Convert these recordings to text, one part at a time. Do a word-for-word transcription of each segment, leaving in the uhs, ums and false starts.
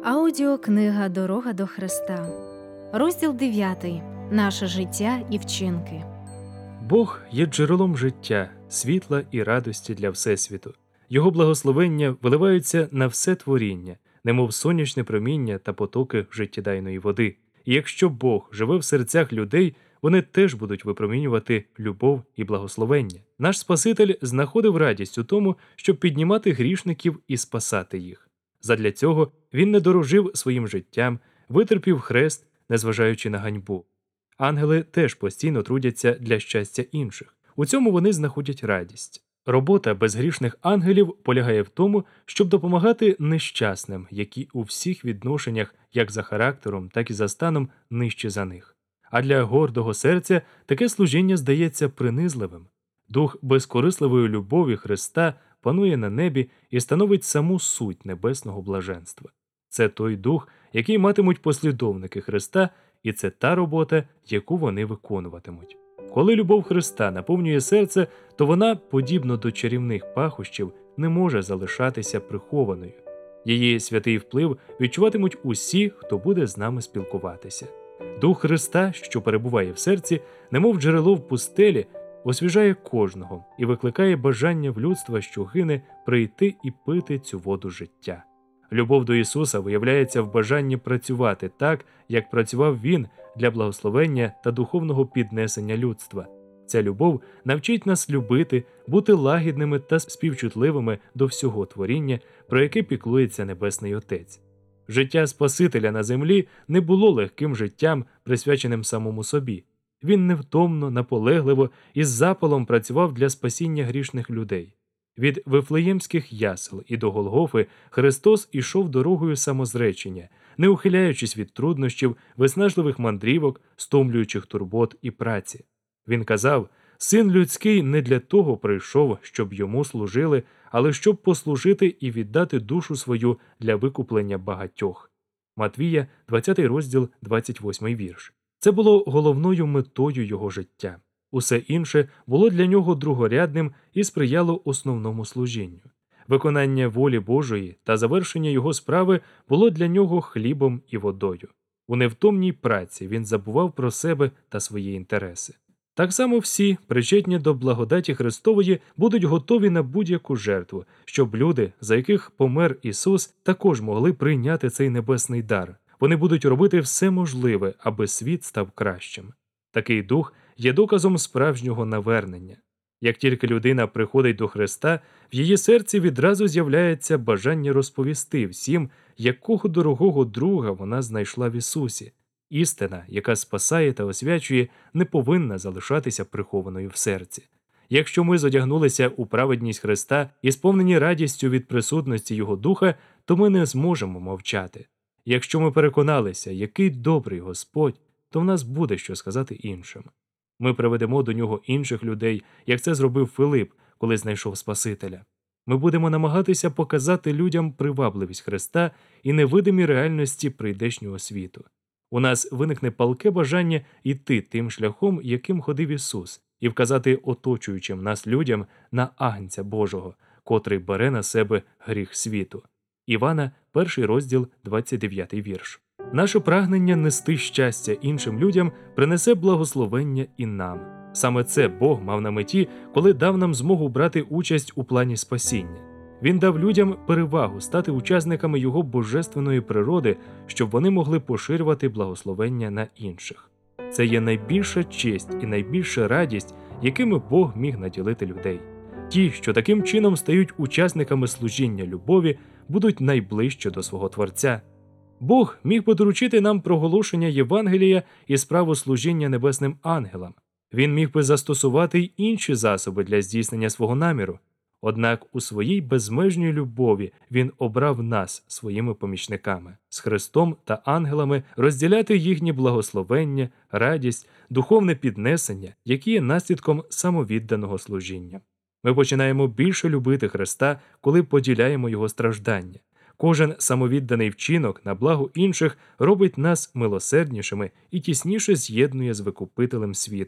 Аудіокнига «Дорога до Христа». Розділ дев'ятий. Наше життя і вчинки. Бог є джерелом життя, світла і радості для Всесвіту. Його благословення виливаються на все творіння, немов сонячне проміння та потоки життєдайної води. І якщо Бог живе в серцях людей, вони теж будуть випромінювати любов і благословення. Наш Спаситель знаходив радість у тому, щоб піднімати грішників і спасати їх. Задля цього він не дорожив своїм життям, витерпів хрест, незважаючи на ганьбу. Ангели теж постійно трудяться для щастя інших. У цьому вони знаходять радість. Робота безгрішних ангелів полягає в тому, щоб допомагати нещасним, які у всіх відношеннях, як за характером, так і за станом, нижче за них. А для гордого серця таке служіння здається принизливим. Дух безкорисливої любові Христа панує на небі і становить саму суть небесного блаженства. Це той дух, який матимуть послідовники Христа, і це та робота, яку вони виконуватимуть. Коли любов Христа наповнює серце, то вона, подібно до чарівних пахощів, не може залишатися прихованою. Її святий вплив відчуватимуть усі, хто буде з нами спілкуватися. Дух Христа, що перебуває в серці, немов джерело в пустелі, освіжає кожного і викликає бажання в людства, що гине, прийти і пити цю воду життя. Любов до Ісуса виявляється в бажанні працювати так, як працював Він для благословення та духовного піднесення людства. Ця любов навчить нас любити, бути лагідними та співчутливими до всього творіння, про яке піклується Небесний Отець. Життя Спасителя на землі не було легким життям, присвяченим самому собі. Він невтомно, наполегливо і з запалом працював для спасіння грішних людей. Від Вифлеємських ясел і до Голгофи Христос ішов дорогою самозречення, не ухиляючись від труднощів, виснажливих мандрівок, стомлюючих турбот і праці. Він казав: «Син людський не для того прийшов, щоб йому служили, але щоб послужити і віддати душу свою для викуплення багатьох». Матвія, двадцятий розділ, двадцять восьмий вірш. Це було головною метою його життя. Усе інше було для нього другорядним і сприяло основному служінню. Виконання волі Божої та завершення його справи було для нього хлібом і водою. У невтомній праці він забував про себе та свої інтереси. Так само всі, причетні до благодаті Христової, будуть готові на будь-яку жертву, щоб люди, за яких помер Ісус, також могли прийняти цей небесний дар. Вони будуть робити все можливе, аби світ став кращим. Такий дух є доказом справжнього навернення. Як тільки людина приходить до Христа, в її серці відразу з'являється бажання розповісти всім, якого дорогого друга вона знайшла в Ісусі. Істина, яка спасає та освячує, не повинна залишатися прихованою в серці. Якщо ми зодягнулися у праведність Христа і сповнені радістю від присутності Його Духа, то ми не зможемо мовчати. Якщо ми переконалися, який добрий Господь, то в нас буде що сказати іншим. Ми приведемо до нього інших людей, як це зробив Филип, коли знайшов Спасителя. Ми будемо намагатися показати людям привабливість Христа і невидимі реальності прийдешнього світу. У нас виникне палке бажання йти тим шляхом, яким ходив Ісус, і вказати оточуючим нас людям на Агнця Божого, котрий бере на себе гріх світу. Івана, перший розділ, двадцять дев'ятий вірш. Наше прагнення нести щастя іншим людям принесе благословення і нам. Саме це Бог мав на меті, коли дав нам змогу брати участь у плані спасіння. Він дав людям перевагу стати учасниками Його божественної природи, щоб вони могли поширювати благословення на інших. Це є найбільша честь і найбільша радість, якими Бог міг наділити людей. Ті, що таким чином стають учасниками служіння любові, будуть найближче до свого Творця. Бог міг би доручити нам проголошення Євангелія і справу служіння небесним ангелам. Він міг би застосувати й інші засоби для здійснення свого наміру. Однак у своїй безмежній любові Він обрав нас своїми помічниками, з Христом та ангелами розділяти їхні благословення, радість, духовне піднесення, які є наслідком самовідданого служіння. Ми починаємо більше любити Христа, коли поділяємо Його страждання. Кожен самовідданий вчинок на благо інших робить нас милосерднішими і тісніше з'єднує з Викупителем світу.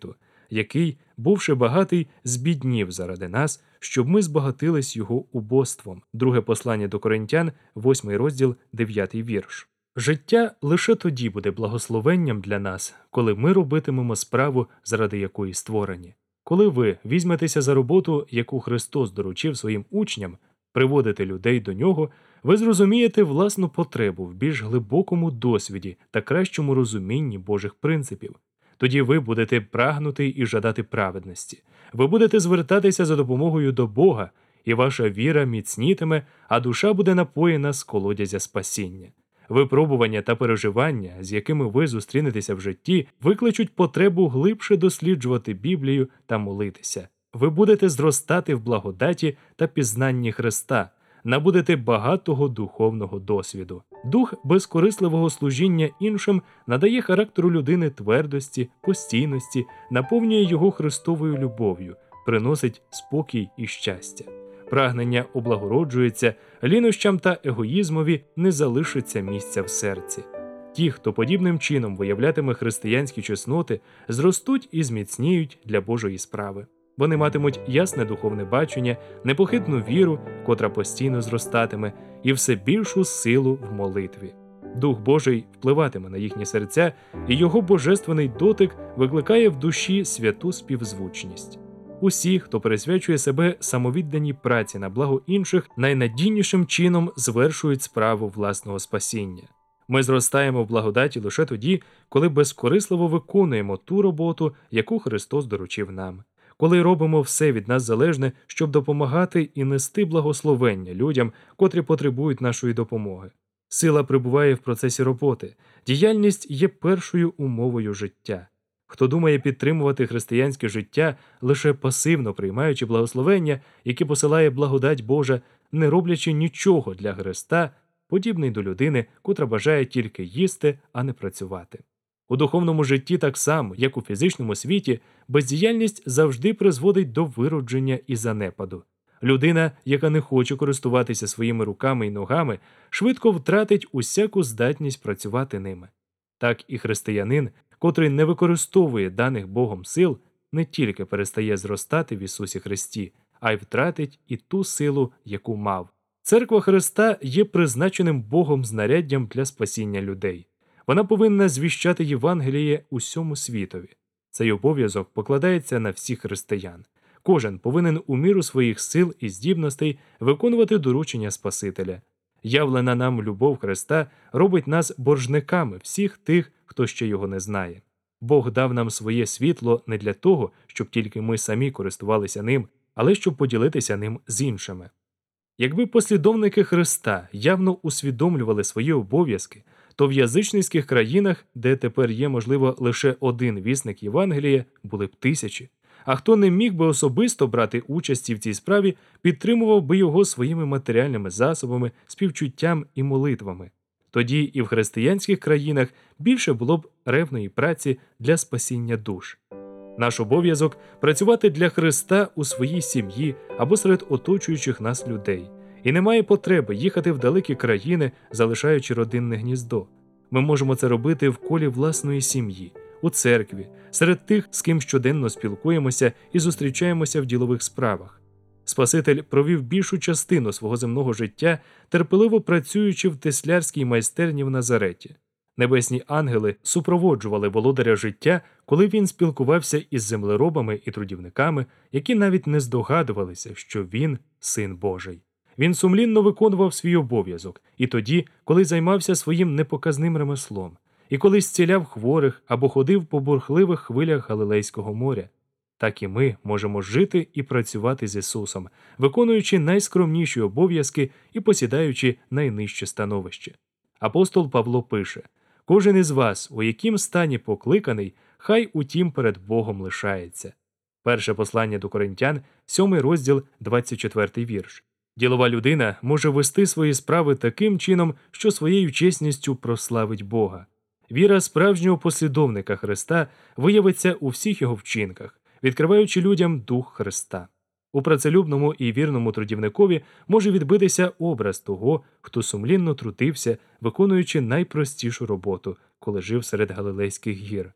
який, бувши багатий, збіднів заради нас, щоб ми збагатились його убоством. Друге послання до Коринтян, восьмий розділ, дев'ятий вірш. Життя лише тоді буде благословенням для нас, коли ми робитимемо справу, заради якої створені. Коли ви візьметеся за роботу, яку Христос доручив своїм учням, приводити людей до нього, ви зрозумієте власну потребу в більш глибокому досвіді та кращому розумінні Божих принципів. Тоді ви будете прагнути і жадати праведності. Ви будете звертатися за допомогою до Бога, і ваша віра міцнітиме, а душа буде напоєна з колодязя спасіння. Випробування та переживання, з якими ви зустрінетеся в житті, викличуть потребу глибше досліджувати Біблію та молитися. Ви будете зростати в благодаті та пізнанні Христа, набудете багатого духовного досвіду. Дух безкорисливого служіння іншим надає характеру людини твердості, постійності, наповнює його Христовою любов'ю, приносить спокій і щастя. Прагнення облагороджується, лінощам та егоїзмові не залишиться місця в серці. Ті, хто подібним чином виявлятиме християнські чесноти, зростуть і зміцніють для Божої справи. Вони матимуть ясне духовне бачення, непохитну віру, котра постійно зростатиме, і все більшу силу в молитві. Дух Божий впливатиме на їхні серця, і його божественний дотик викликає в душі святу співзвучність. Усі, хто присвячує себе самовідданій праці на благо інших, найнадійнішим чином звершують справу власного спасіння. Ми зростаємо в благодаті лише тоді, коли безкорисливо виконуємо ту роботу, яку Христос доручив нам. Коли робимо все від нас залежне, щоб допомагати і нести благословення людям, котрі потребують нашої допомоги. Сила прибуває в процесі роботи. Діяльність є першою умовою життя. Хто думає підтримувати християнське життя, лише пасивно приймаючи благословення, які посилає благодать Божа, не роблячи нічого для Христа, подібний до людини, котра бажає тільки їсти, а не працювати. У духовному житті так само, як у фізичному світі, бездіяльність завжди призводить до виродження і занепаду. Людина, яка не хоче користуватися своїми руками і ногами, швидко втратить усяку здатність працювати ними. Так і християнин, котрий не використовує даних Богом сил, не тільки перестає зростати в Ісусі Христі, а й втратить і ту силу, яку мав. Церква Христа є призначеним Богом знаряддям для спасіння людей. Вона повинна звіщати Євангеліє усьому світові. Цей обов'язок покладається на всіх християн. Кожен повинен у міру своїх сил і здібностей виконувати доручення Спасителя. Явлена нам любов Христа робить нас боржниками всіх тих, хто ще його не знає. Бог дав нам своє світло не для того, щоб тільки ми самі користувалися ним, але щоб поділитися ним з іншими. Якби послідовники Христа явно усвідомлювали свої обов'язки, то в язичницьких країнах, де тепер є, можливо, лише один вісник Євангелія, були б тисячі. А хто не міг би особисто брати участі в цій справі, підтримував би його своїми матеріальними засобами, співчуттям і молитвами. Тоді і в християнських країнах більше було б ревної праці для спасіння душ. Наш обов'язок – працювати для Христа у своїй сім'ї або серед оточуючих нас людей. І немає потреби їхати в далекі країни, залишаючи родинне гніздо. Ми можемо це робити в колі власної сім'ї, у церкві, серед тих, з ким щоденно спілкуємося і зустрічаємося в ділових справах. Спаситель провів більшу частину свого земного життя, терпеливо працюючи в теслярській майстерні в Назареті. Небесні ангели супроводжували володаря життя, коли він спілкувався із землеробами і трудівниками, які навіть не здогадувалися, що він – Син Божий. Він сумлінно виконував свій обов'язок і тоді, коли займався своїм непоказним ремеслом, і коли зціляв хворих або ходив по бурхливих хвилях Галилейського моря. Так і ми можемо жити і працювати з Ісусом, виконуючи найскромніші обов'язки і посідаючи найнижче становище. Апостол Павло пише: «Кожен із вас, у яким стані покликаний, хай утім перед Богом лишається». Перше послання до Коринтян, сьомий розділ, двадцять четвертий вірш. Ділова людина може вести свої справи таким чином, що своєю чесністю прославить Бога. Віра справжнього послідовника Христа виявиться у всіх його вчинках, відкриваючи людям дух Христа. У працелюбному і вірному трудівникові може відбитися образ того, хто сумлінно трудився, виконуючи найпростішу роботу, коли жив серед Галилейських гір.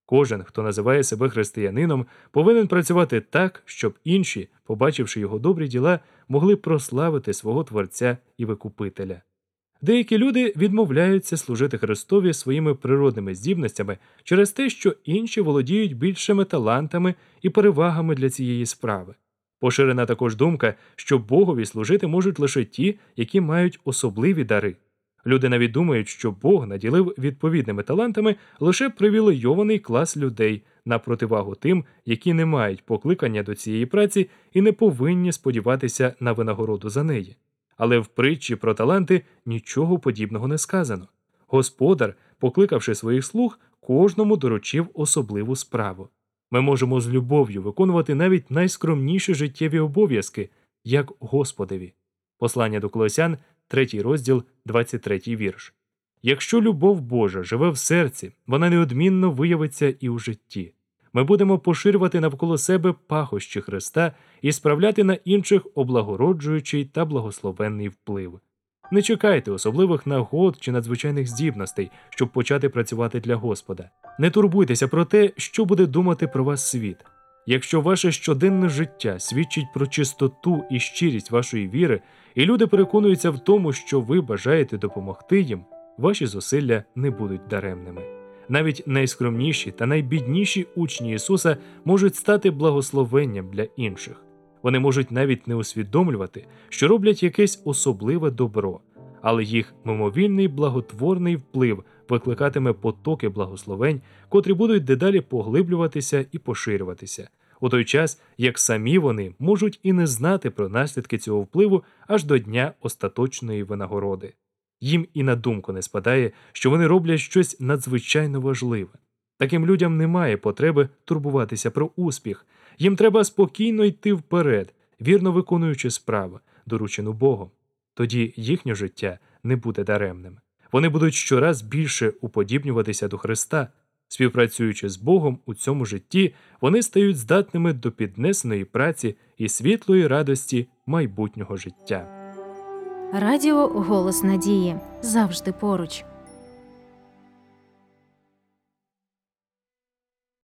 Кожен, хто називає себе християнином, повинен працювати так, щоб інші, побачивши його добрі діла, могли прославити свого Творця і Викупителя. Деякі люди відмовляються служити Христові своїми природними здібностями через те, що інші володіють більшими талантами і перевагами для цієї справи. Поширена також думка, що Богові служити можуть лише ті, які мають особливі дари. Люди навіть думають, що Бог наділив відповідними талантами лише привілейований клас людей на противагу тим, які не мають покликання до цієї праці і не повинні сподіватися на винагороду за неї. Але в притчі про таланти нічого подібного не сказано. Господар, покликавши своїх слуг, кожному доручив особливу справу. Ми можемо з любов'ю виконувати навіть найскромніші життєві обов'язки, як Господеві. Послання до Колосян, третій розділ, двадцять третій вірш. Якщо любов Божа живе в серці, вона неодмінно виявиться і у житті. Ми будемо поширювати навколо себе пахощі Христа і справляти на інших облагороджуючий та благословенний вплив. Не чекайте особливих нагод чи надзвичайних здібностей, щоб почати працювати для Господа. Не турбуйтеся про те, що буде думати про вас світ. Якщо ваше щоденне життя свідчить про чистоту і щирість вашої віри, і люди переконуються в тому, що ви бажаєте допомогти їм, ваші зусилля не будуть даремними. Навіть найскромніші та найбідніші учні Ісуса можуть стати благословенням для інших. Вони можуть навіть не усвідомлювати, що роблять якесь особливе добро, але їх мимовільний благотворний вплив викликатиме потоки благословень, котрі будуть дедалі поглиблюватися і поширюватися, у той час, як самі вони можуть і не знати про наслідки цього впливу аж до дня остаточної винагороди. Їм і на думку не спадає, що вони роблять щось надзвичайно важливе. Таким людям немає потреби турбуватися про успіх. Їм треба спокійно йти вперед, вірно виконуючи справу, доручену Богом. Тоді їхнє життя не буде даремним. Вони будуть щораз більше уподібнюватися до Христа. Співпрацюючи з Богом у цьому житті, вони стають здатними до піднесеної праці і світлої радості майбутнього життя. Радіо «Голос надії» завжди поруч.